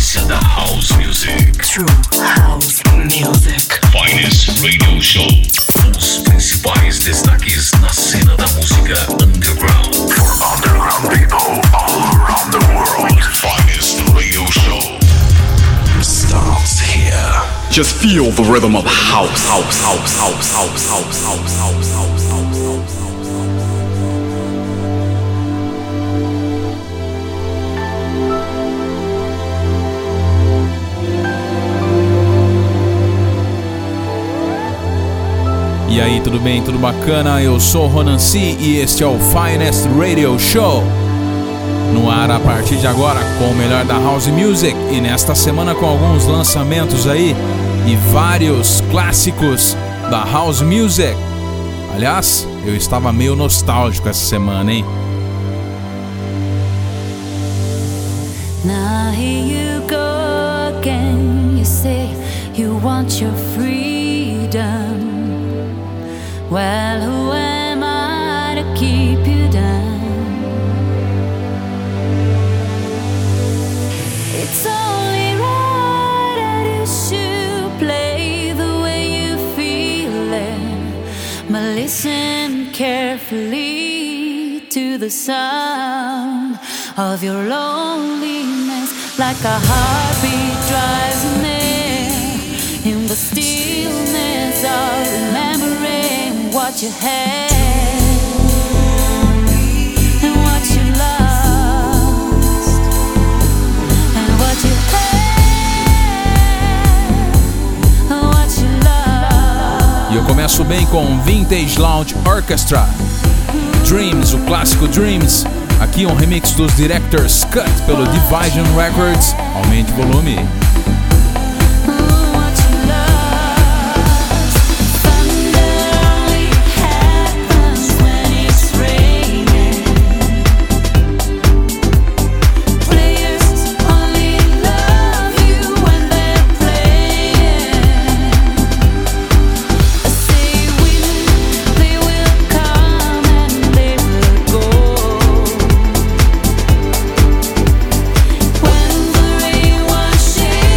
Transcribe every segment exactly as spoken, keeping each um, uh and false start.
essência da House Music. True House Music. Finest Radio Show. Os principais destaques na cena da música underground. For underground people all around the world. Finest Radio Show starts here. Just feel the rhythm of house, house, house, house, house, house, house, house, house, house, house. E aí, tudo bem? Tudo bacana? Eu sou o Ronan C e este é o Finest Radio Show. No ar a partir de agora com o melhor da House Music e nesta semana com alguns lançamentos aí e vários clássicos da House Music. Aliás, eu estava meio nostálgico essa semana, hein? Now here you go again. You say you want your freedom. Well, who am I to keep you down? It's only right that you should play the way you feel it, but listen carefully to the sound of your loneliness, like a heartbeat drives near in the stillness of remembering what you had and what you lost and what you had and what you lost. E eu começo bem com Vintage Lounge Orchestra, Dreams, o clássico Dreams. Aqui um remix dos Director's Cut pelo Division Records. Aumente o volume. When the rain was shaking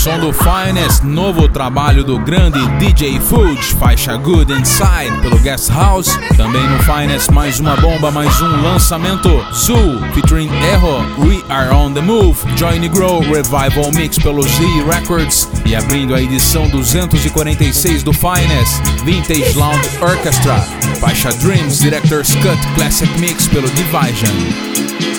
som do Finest, novo trabalho do grande D J Fuge, faixa Good Inside pelo Guest House. Também no Finest mais uma bomba, mais um lançamento, Zoo featuring Erro, We Are On The Move, Johnny Grow Revival Mix pelo Z Records. E abrindo a edição duzentos e quarenta e seis do Finest, Vintage Lounge Orchestra, faixa Dreams Director's Cut Classic Mix pelo Division.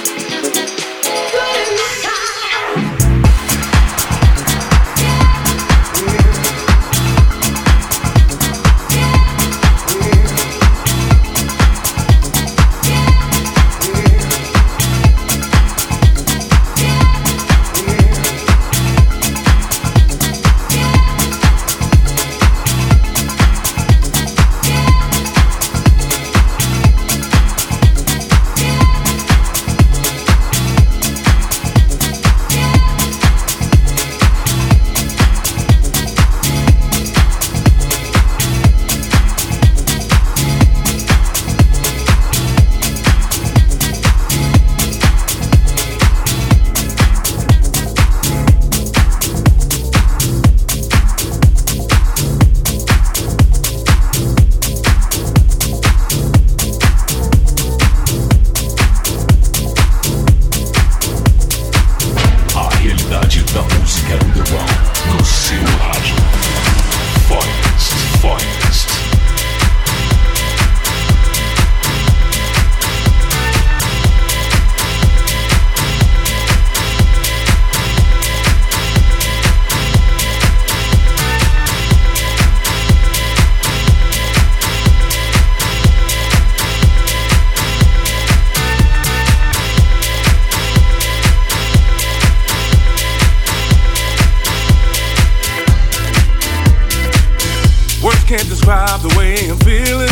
Can't describe the way I'm feeling.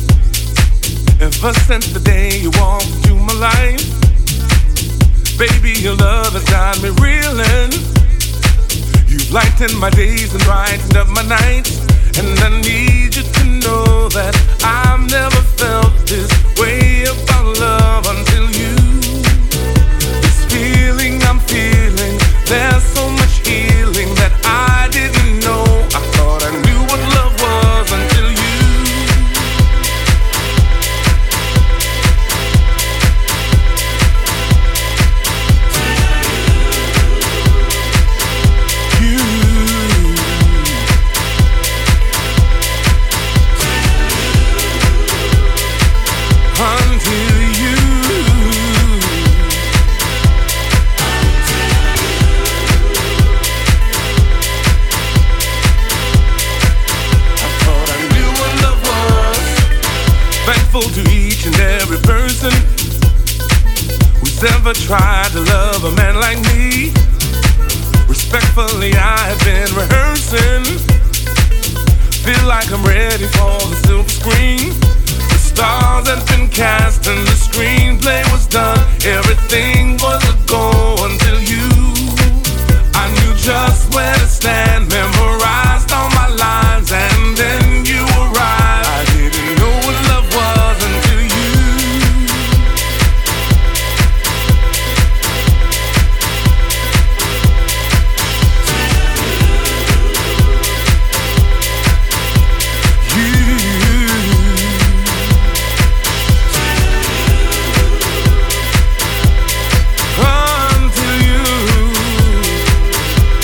Ever since the day you walked into my life, baby, your love has got me reeling. You've lightened my days and brightened up my nights, and I need you to know that I've never felt this way about love until you. This feeling I'm feeling, there's so much healing that I didn't know. I thought I knew what love was until you. You. Until you. Thankful to each and every person who's ever tried to love a man like me. Respectfully, I have been rehearsing. Feel like I'm ready for the silver screen. The stars have been cast and the screenplay was done. Everything was a go until you. I knew just where to stand, memorized all my lines, and then you arrived. I didn't know what love was until you. Until you.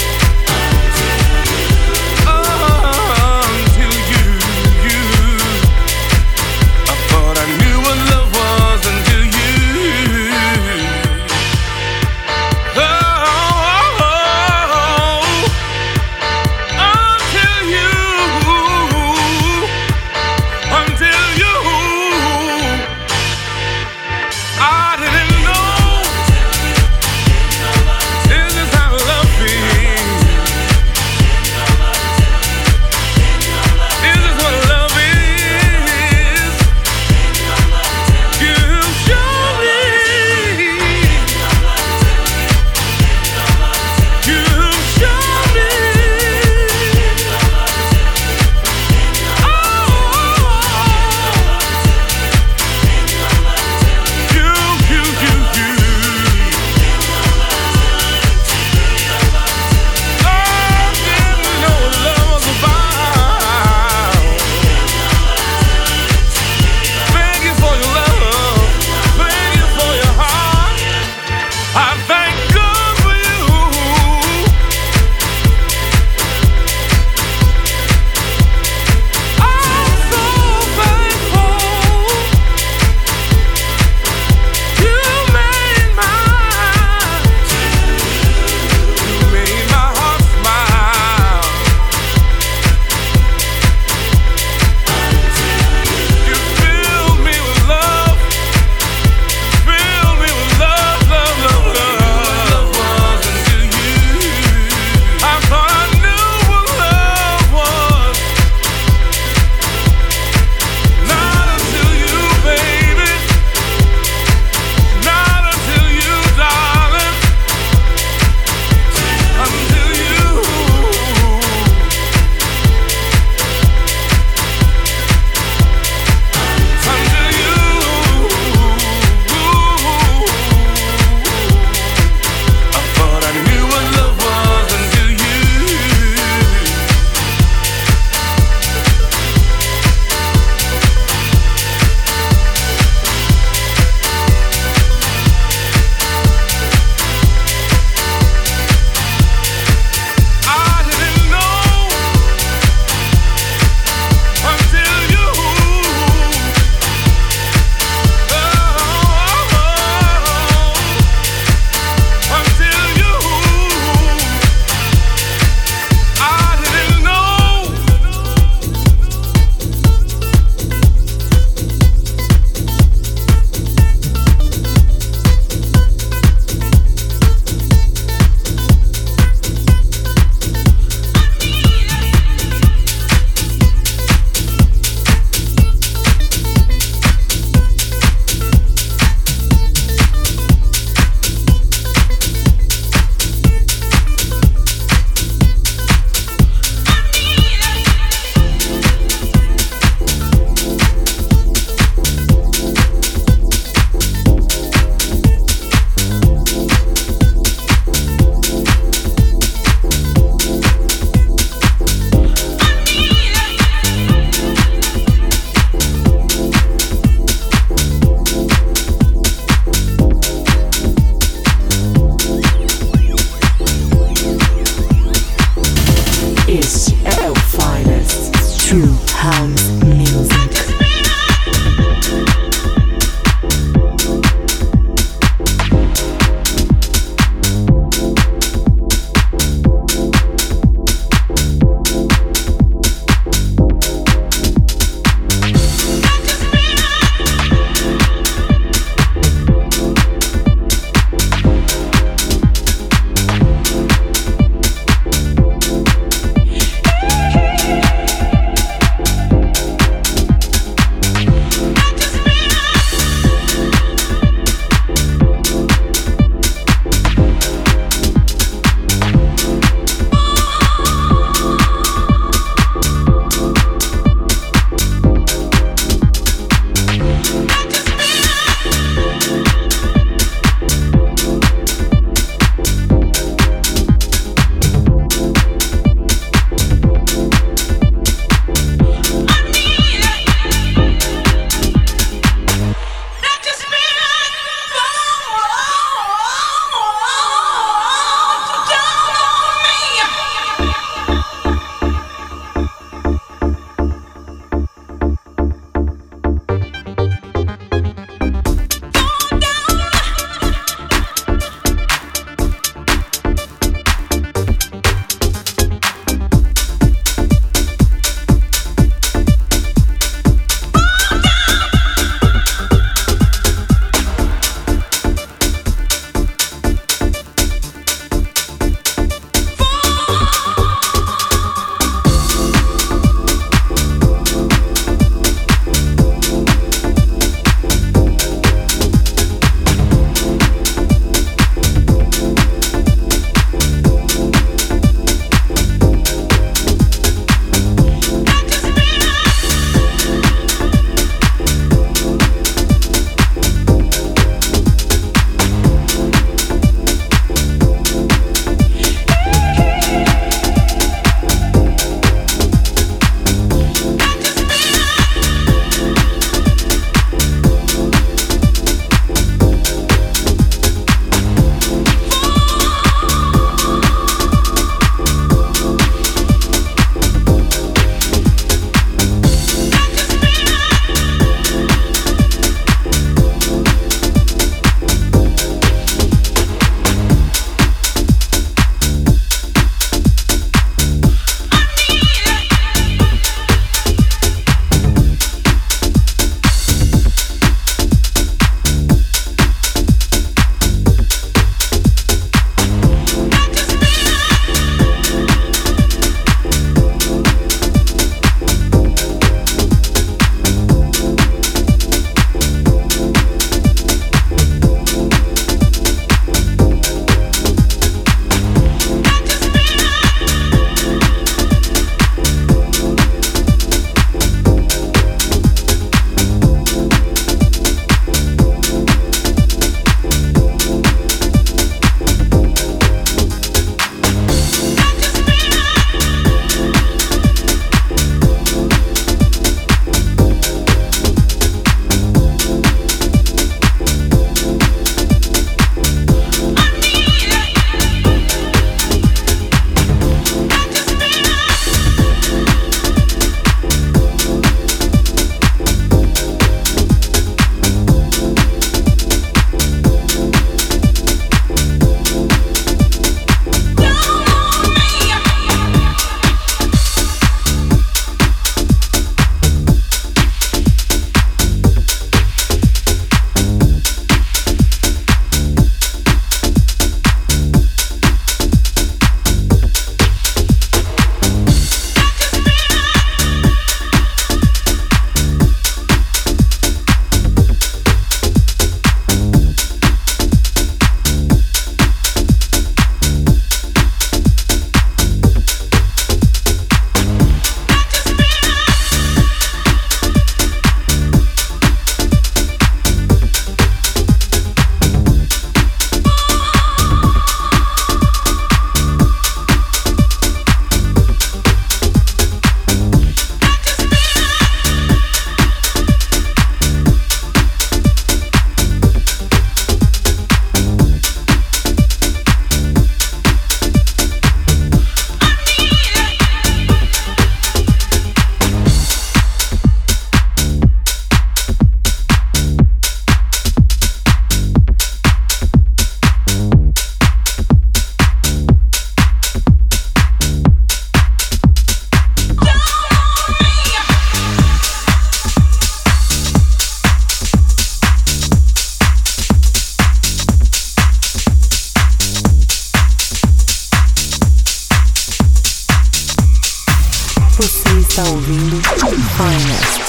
está ouvindo Finest.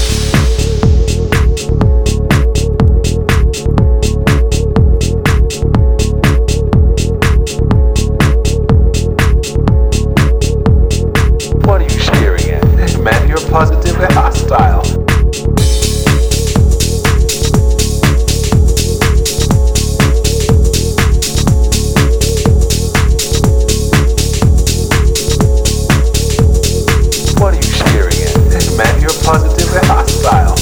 What are you staring at? Man, you're positively hostile. What are you staring at? Man, you're positively hostile.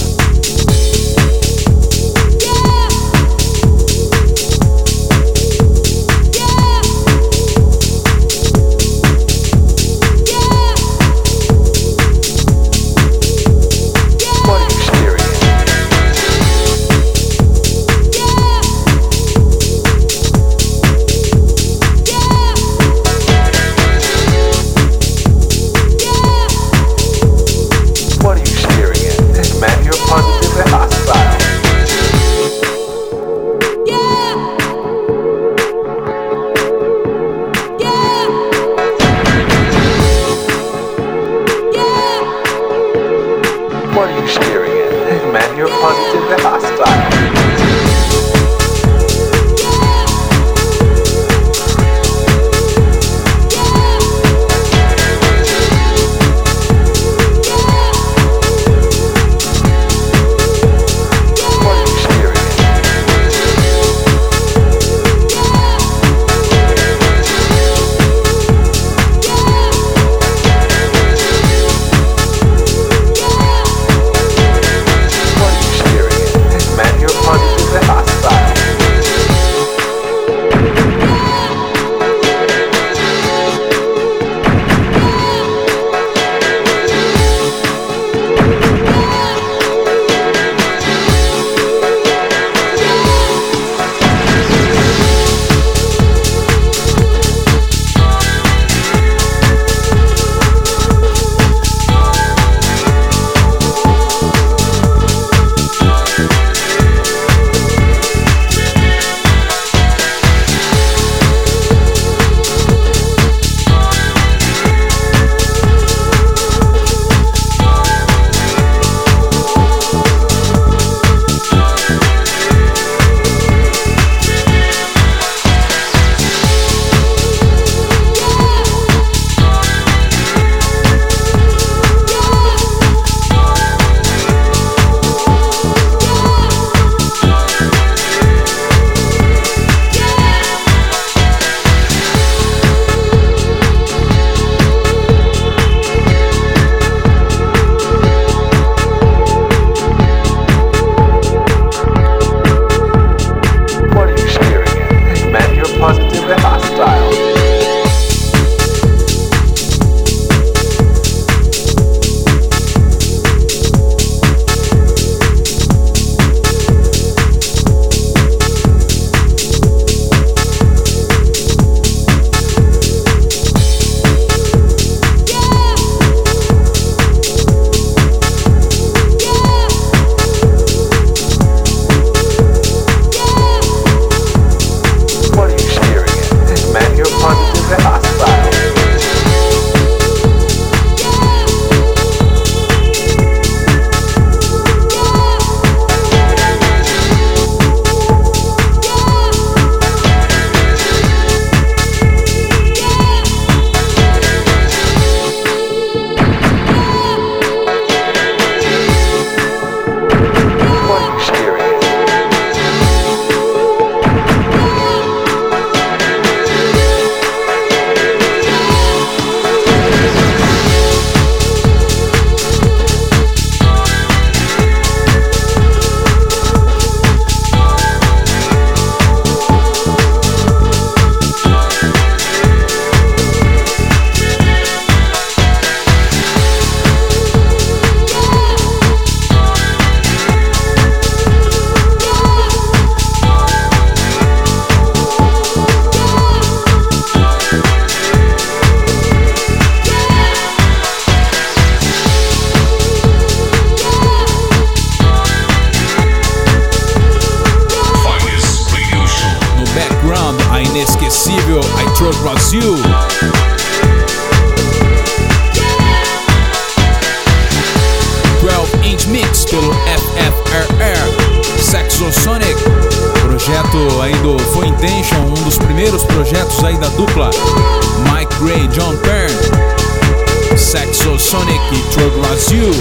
Sean Penn, Saxosonic e Troy Brasil.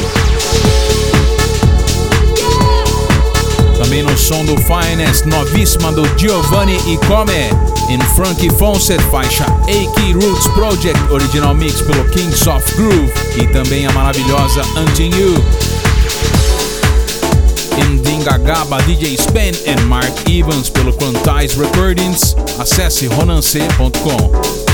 Também no som do Finest, novíssima do Giovanni e Come, em Frankie Fawcett, faixa A K Roots Project, original mix pelo Kings of Groove, e também a maravilhosa Until You. Em Dingagaba, D J Spen e Mark Evans pelo Quantize Recordings. Acesse ronance ponto com.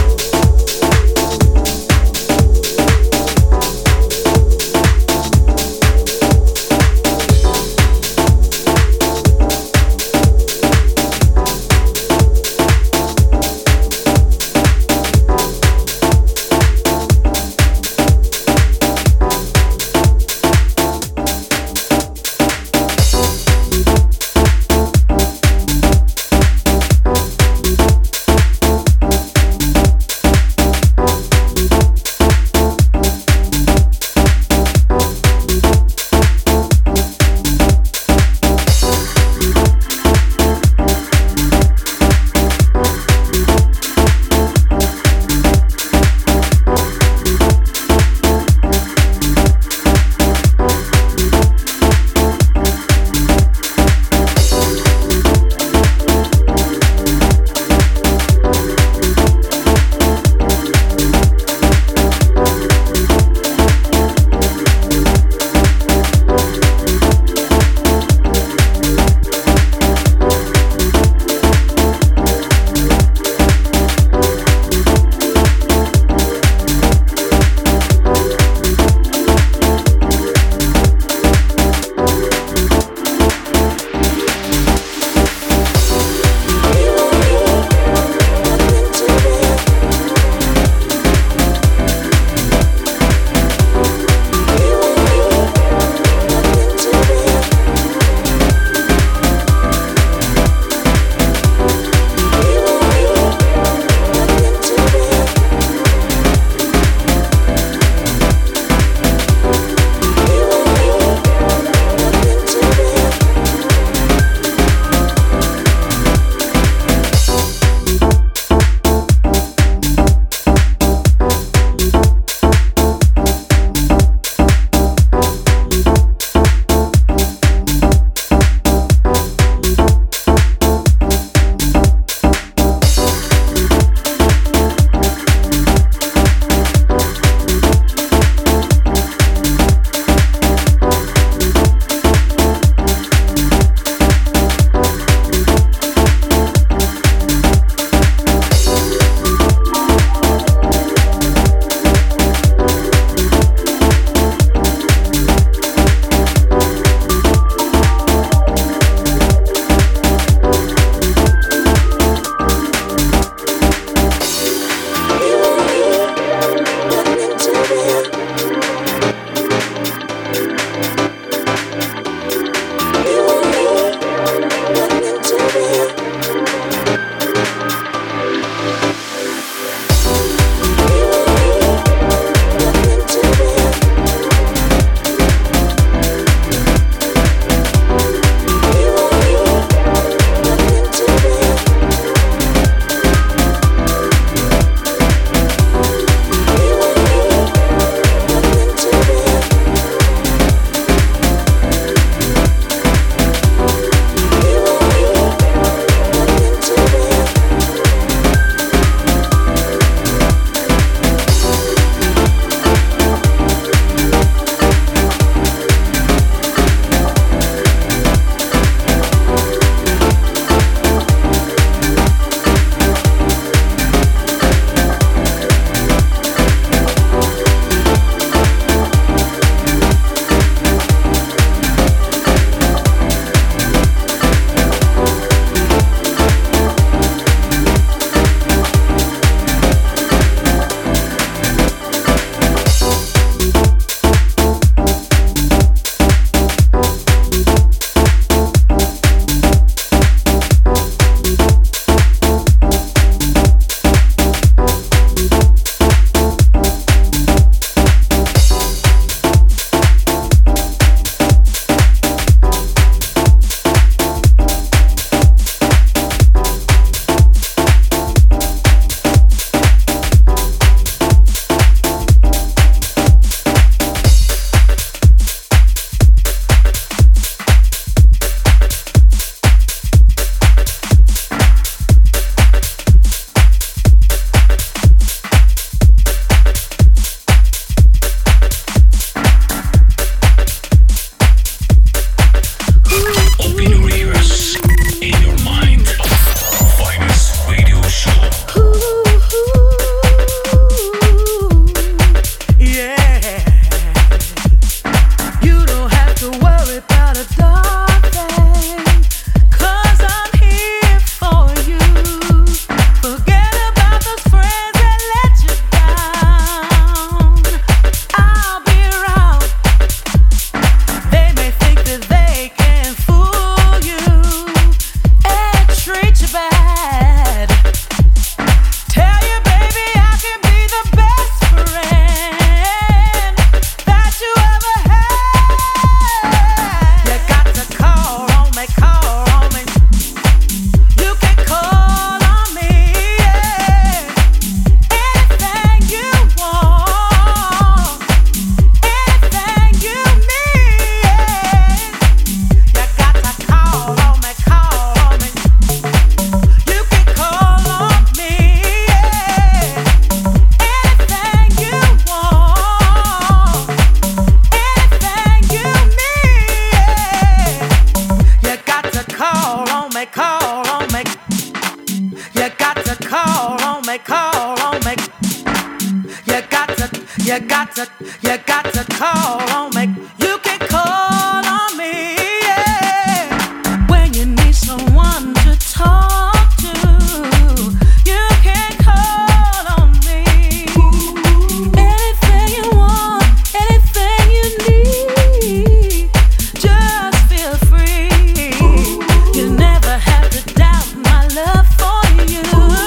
You got to, you got to call on me. You can call on me, yeah. When you need someone to talk to, you can call on me. Anything you want, anything you need, just feel free. You never have to doubt my love for you.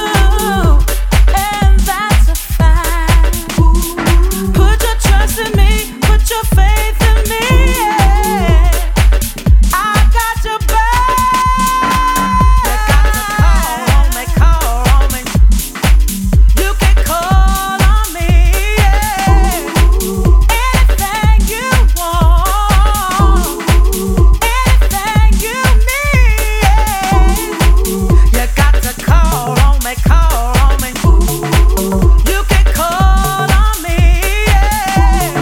Your faith in me, yeah. I got your back. You got to call on me, call on me. You can call on me, yeah. Anything you want, anything you need, yeah. You got to call on me, call on me. You can call on me, yeah.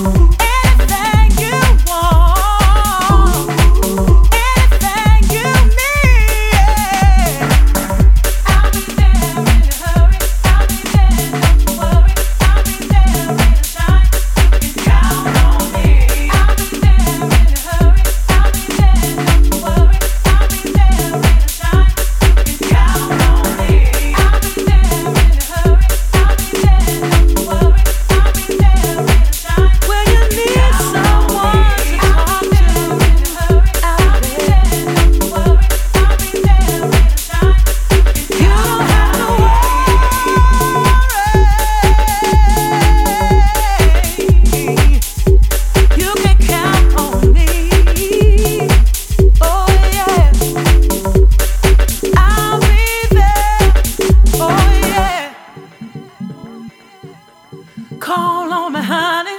Call on me, honey.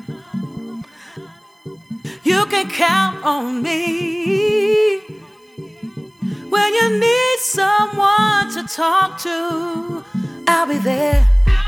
You can count on me. When you need someone to talk to, I'll be there.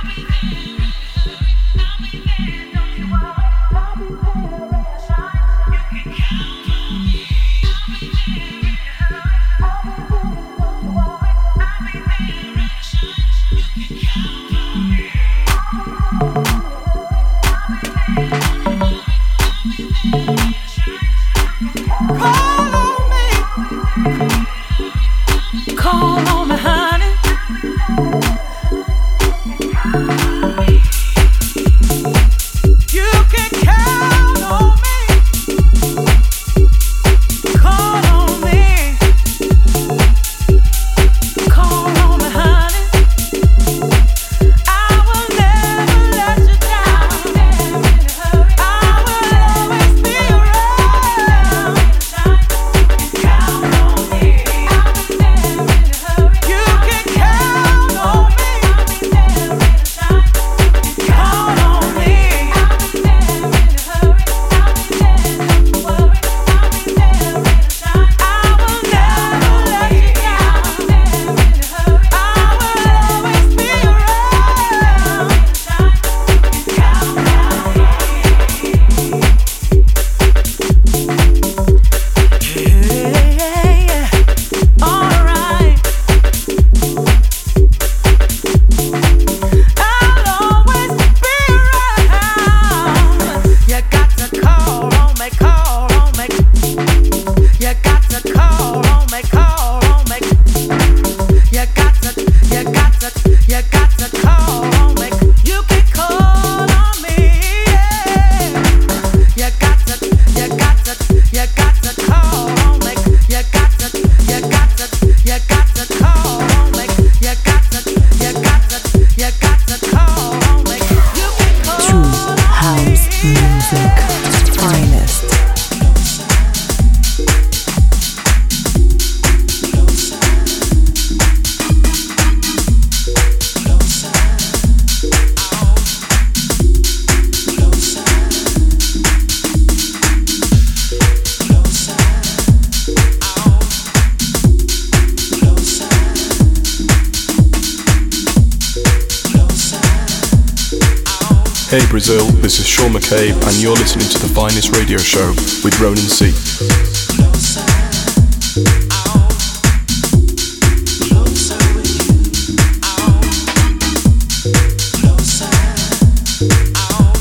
Call on me, honey. Hey Brazil, this is Sean McCabe and you're listening to The Finest Radio Show with Ronan C. Closer with you. Closer.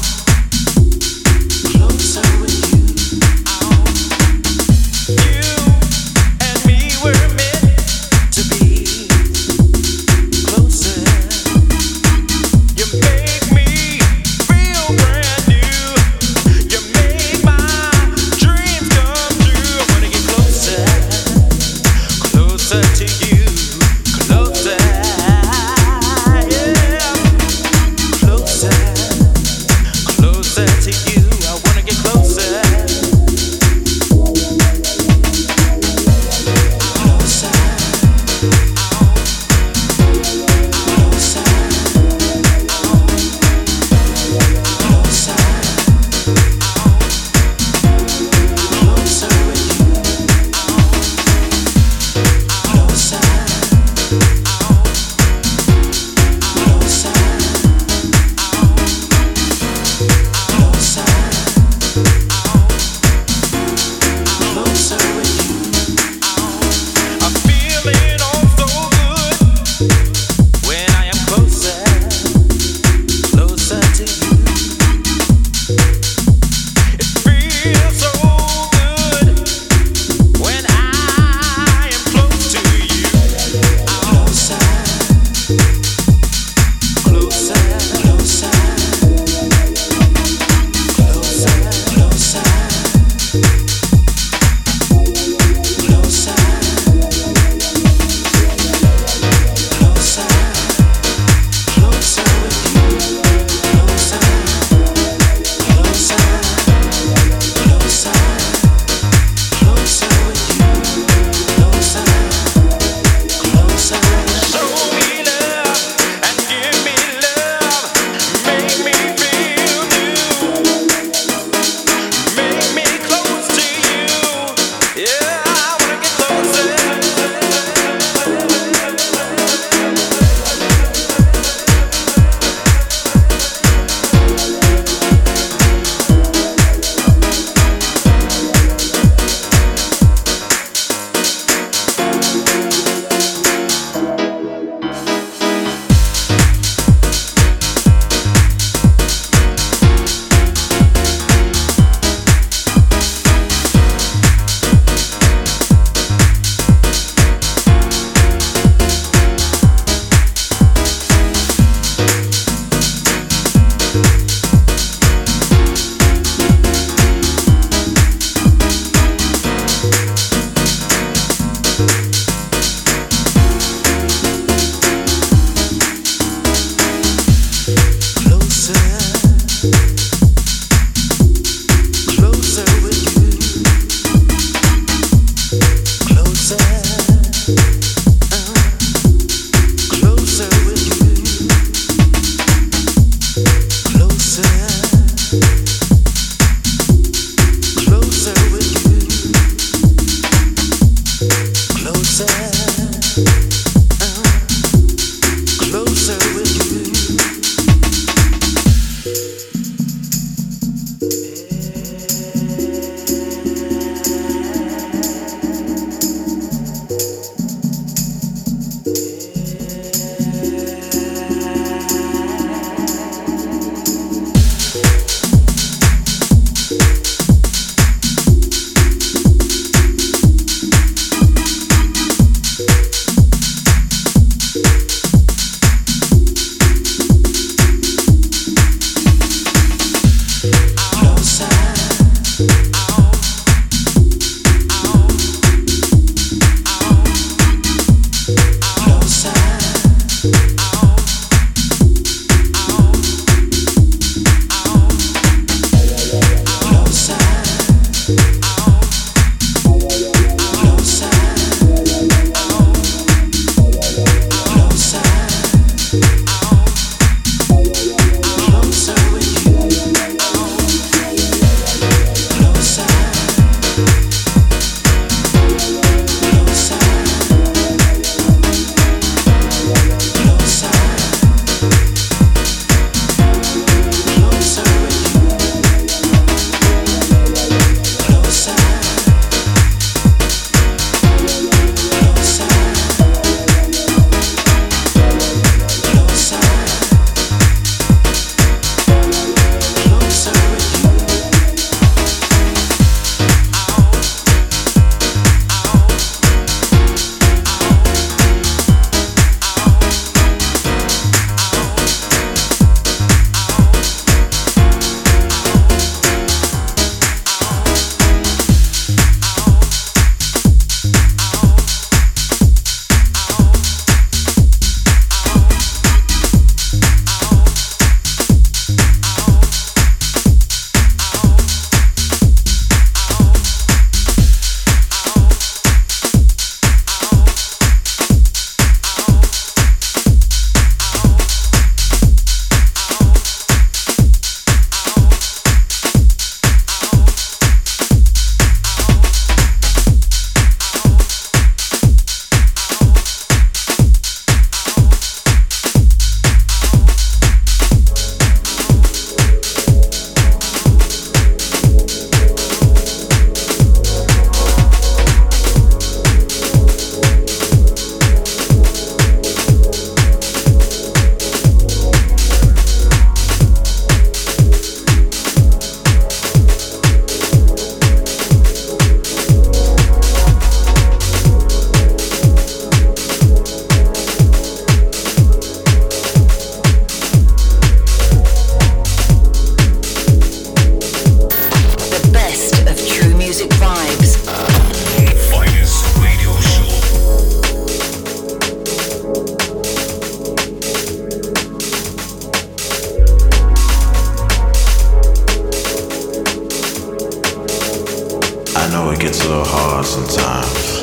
little hard sometimes.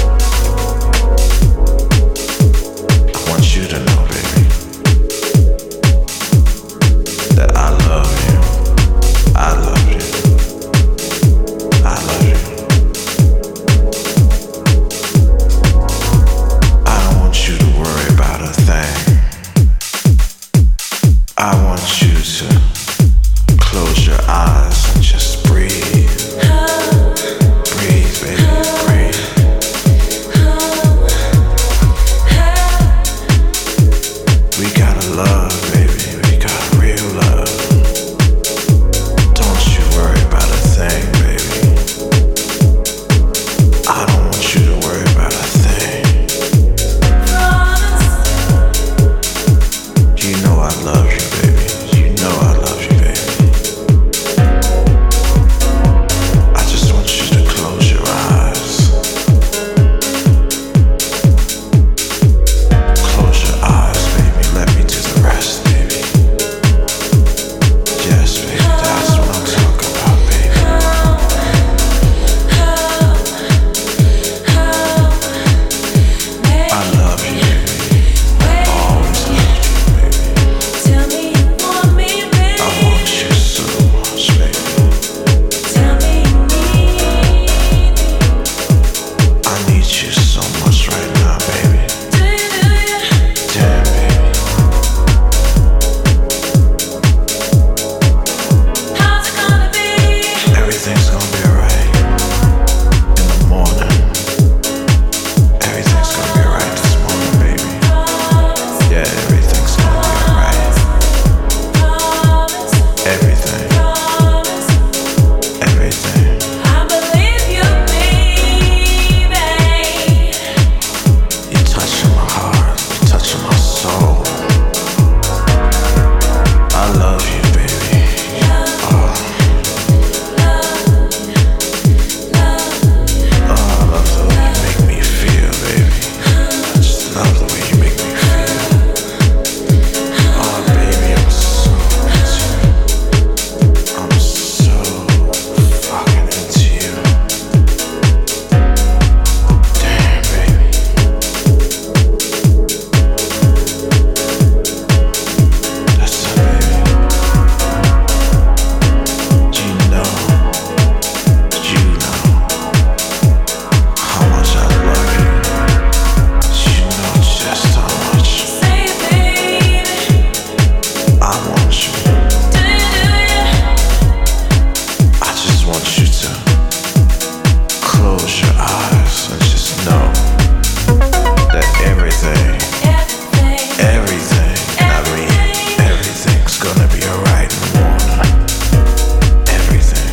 I want you to know, baby, that I love you. I love you. I love you. I don't want you to worry about a thing. I want you to close your eyes and just breathe. Breathe, baby, breathe. We gotta love, baby, we got real love. Don't you worry about a thing, baby. I don't want you to worry about a thing. You know I love you, baby. You know I love you, baby. I just want you to close your eyes. Close your eyes, baby. Let me do the rest, baby. Yes, baby. That's what I'm talking about, baby. I love you, baby. I always loved you, baby. Tell me you want me, baby. I want you so much, baby. Tell me you need me. I need you so much right now, baby. Do you, do you? Damn, baby. How's it gonna be? Everything's gonna be alright. In the morning. Everything's gonna be alright this morning, baby. Yeah, everything's gonna be alright. Everything. Everything. I believe you, baby. You're touching my heart. You're touching my soul. I love you, baby. Oh. Oh, I love the way you make me feel, baby. I just love the way you make me feel. Oh, baby, I'm so into you. I'm so fucking into you. Damn, baby. That's it, baby. You know, you know how much I love you. You know just how much Say it, baby. I want you. Do you, do you? I just want you to close your eyes and just know that everything, Everything. everything, I mean, everything's gonna be alright in the morning. Everything.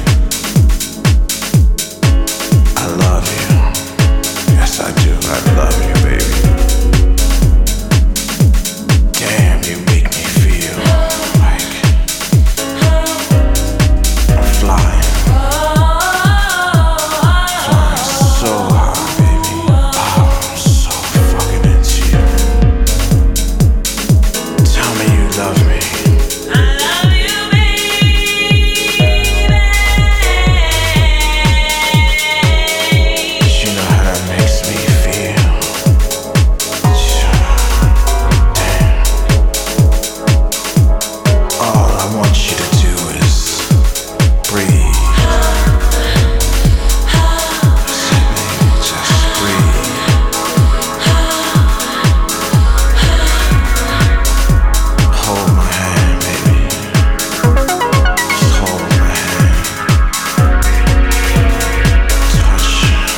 I love you. Yes, I do. I love you, baby. Damn, you make me feel like I'm flying. Flying so high, baby. Oh, I'm so fucking into you. Tell me you love me. I love you, baby. You know how that makes me feel. Damn. All I want you to do is breathe. That's it, baby. Just breathe. Hold my hand, baby. Just hold my hand. Touch.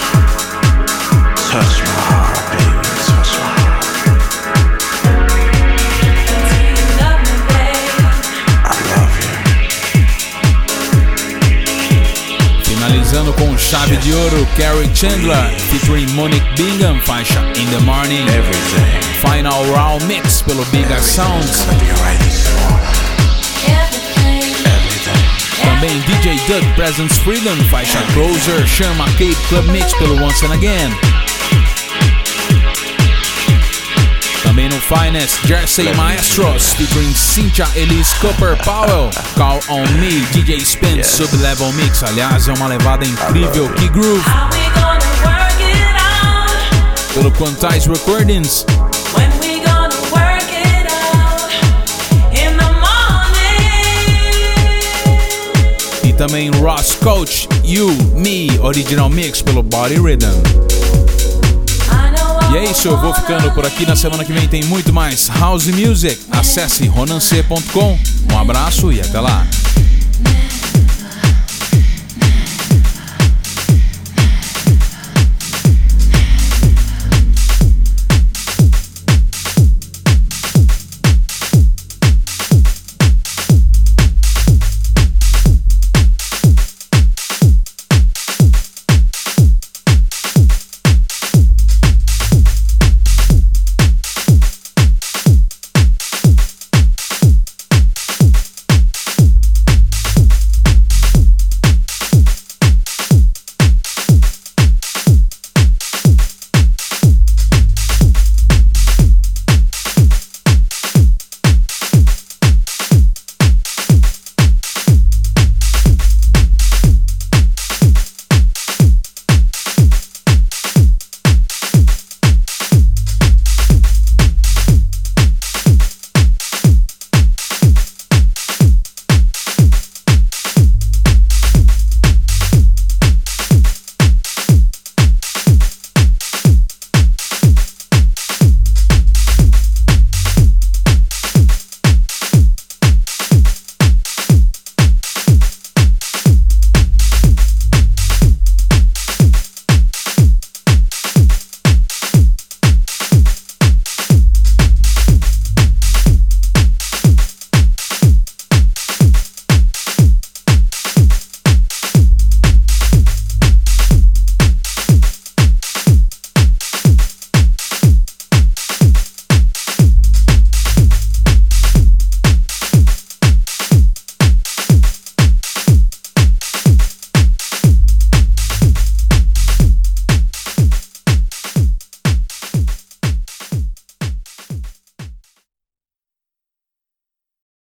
Touch my heart, baby. Touch my heart. Do you love me, baby? I love you. Finalizando com chave de ouro, Carrie Chandler featuring Monique Bingham, faixa In the Morning. Everything. Final Round Mix pelo Biga Sounds. Everything's gonna be alright this morning. Everything. Everything. Também D J Doug Presents Freedom, faixa Closer, Sean McCabe Club Mix pelo Once and Again. Também no Finest, Jersey Maestros featuring Cynthia Elise Cooper Powell, Call On Me, D J Spin, yes. Sub-Level Mix. Aliás, é uma levada incrível, que groove. Pelo Quantize Recordings. E também Ross Coach, You, Me, Original Mix pelo Body Rhythm. E é isso, eu vou ficando por aqui. Na semana que vem tem muito mais House Music. Acesse ronancê ponto com. Um abraço e até lá.